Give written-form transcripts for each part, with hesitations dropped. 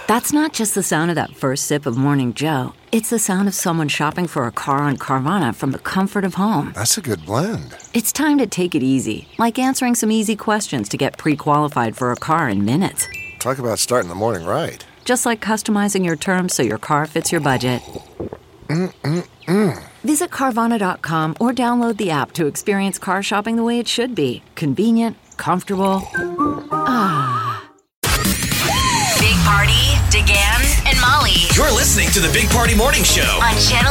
That's not just the sound of that first sip of Morning Joe. It's the sound of someone shopping for a car on Carvana from the comfort of home. That's a good blend. It's time to take it easy, like answering some easy questions to get pre-qualified for a car in minutes. Talk about starting the morning right. Just like customizing your terms so your car fits your budget. Visit Carvana.com or download the app to experience car shopping the way it should be. Convenient, comfortable. Big Party, DeGan, and Molly You're listening to the Big Party Morning Show. on Channel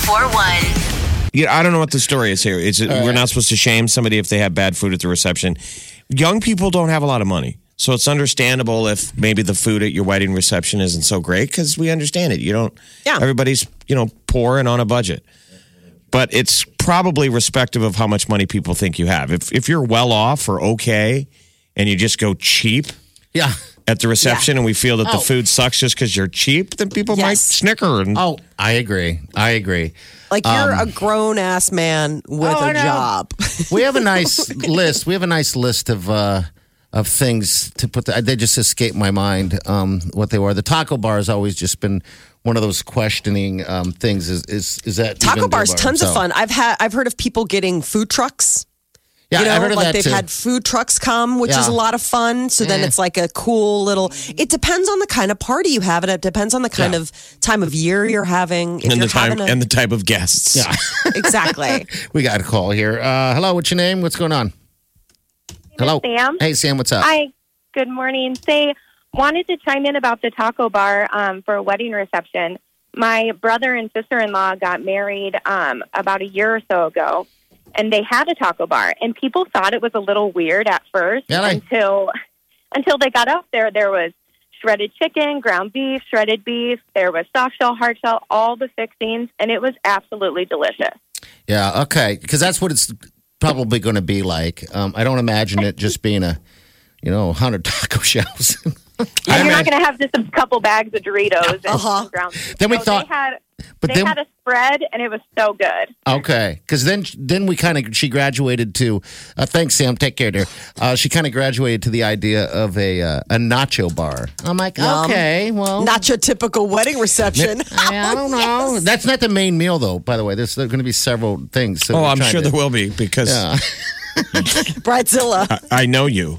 94.1. Yeah, I don't know what the story is here. We're not supposed to shame somebody if they have bad food at the reception. Young people don't have a lot of money. So it's understandable if maybe the food at your wedding reception isn't so great because we understand it. Everybody's, poor and on a budget. But it's probably respective of how much money people think you have. If you're well off or okay and you just go cheap at the reception and we feel that the food sucks just because you're cheap, then people might snicker. I agree. Like you're a grown-ass man with a job. We have a nice list. We have a nice list of things to put. They just escape my mind what they were. The taco bar has always just been one of those questioning things. Is that taco bars? Tons of fun. I've heard of people getting food trucks. Yeah, I've heard of that they've too. had food trucks come, which is a lot of fun. So then it's like a cool little. It depends on the kind of party you have, and it depends on the kind of time of year you're having. If and you're the time having and the type of guests. Yeah, exactly. We got a call here. Hello, what's your name? What's going on? Hello, Sam. Hey, Sam. What's up? Hi. Good morning. Wanted to chime in about the taco bar for a wedding reception. My brother and sister-in-law got married about a year or so ago, and they had a taco bar. And people thought it was a little weird at first until they got up there. There was shredded chicken, ground beef, shredded beef. There was soft shell, hard shell, all the fixings, and it was absolutely delicious. Yeah, okay, because that's what it's probably going to be like. I don't imagine it just being 100 taco shells. And you're not going to have just a couple bags of Doritos and some ground beef. Then we thought... They had a spread, and it was so good. Okay, because then we she graduated to. Thanks, Sam. Take care, dear. She kind of graduated to the idea of a nacho bar. I'm like, okay, well, not your typical wedding reception. I don't know. Yes. That's not the main meal, though. By the way, there's going to be several things. So I'm sure there will be because Bridezilla. I know you.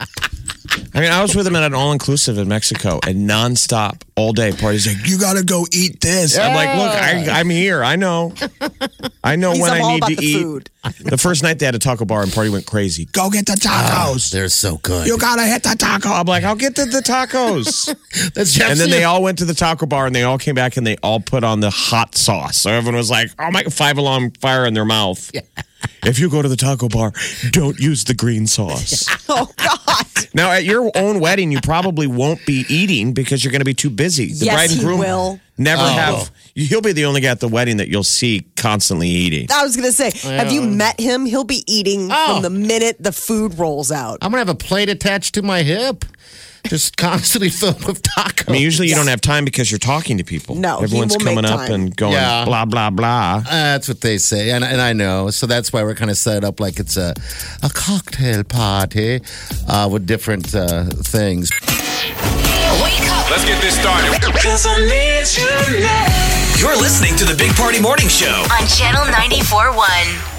I mean, I was with him at an all-inclusive in Mexico, and nonstop, all day, parties like, you got to go eat this. Yeah. I'm like, look, I'm here. I know. I know when I need to eat. Food. The first night they had a taco bar and party went crazy. Go get the tacos. They're so good. You got to hit the taco. I'm like, I'll get the tacos. And then they all went to the taco bar, and they all came back, and they all put on the hot sauce. So everyone was like, oh, my, 5 alarm fire in their mouth. Yeah. If you go to the taco bar, don't use the green sauce. Oh, God. Now, at your own wedding, you probably won't be eating because you're going to be too busy. The bride and groom will. Never have. He'll be the only guy at the wedding that you'll see constantly eating. I was going to say, have you met him? He'll be eating from the minute the food rolls out. I'm going to have a plate attached to my hip. Just constantly filled with tacos. I mean, usually you don't have time because you're talking to people. No, everyone's coming up and going blah, blah, blah. That's what they say. And I know. So that's why we're kind of set up like it's a cocktail party with different things. Wake up. Let's get this started. 'Cause I need you now. You're listening to the Big Party Morning Show on Channel 94.1.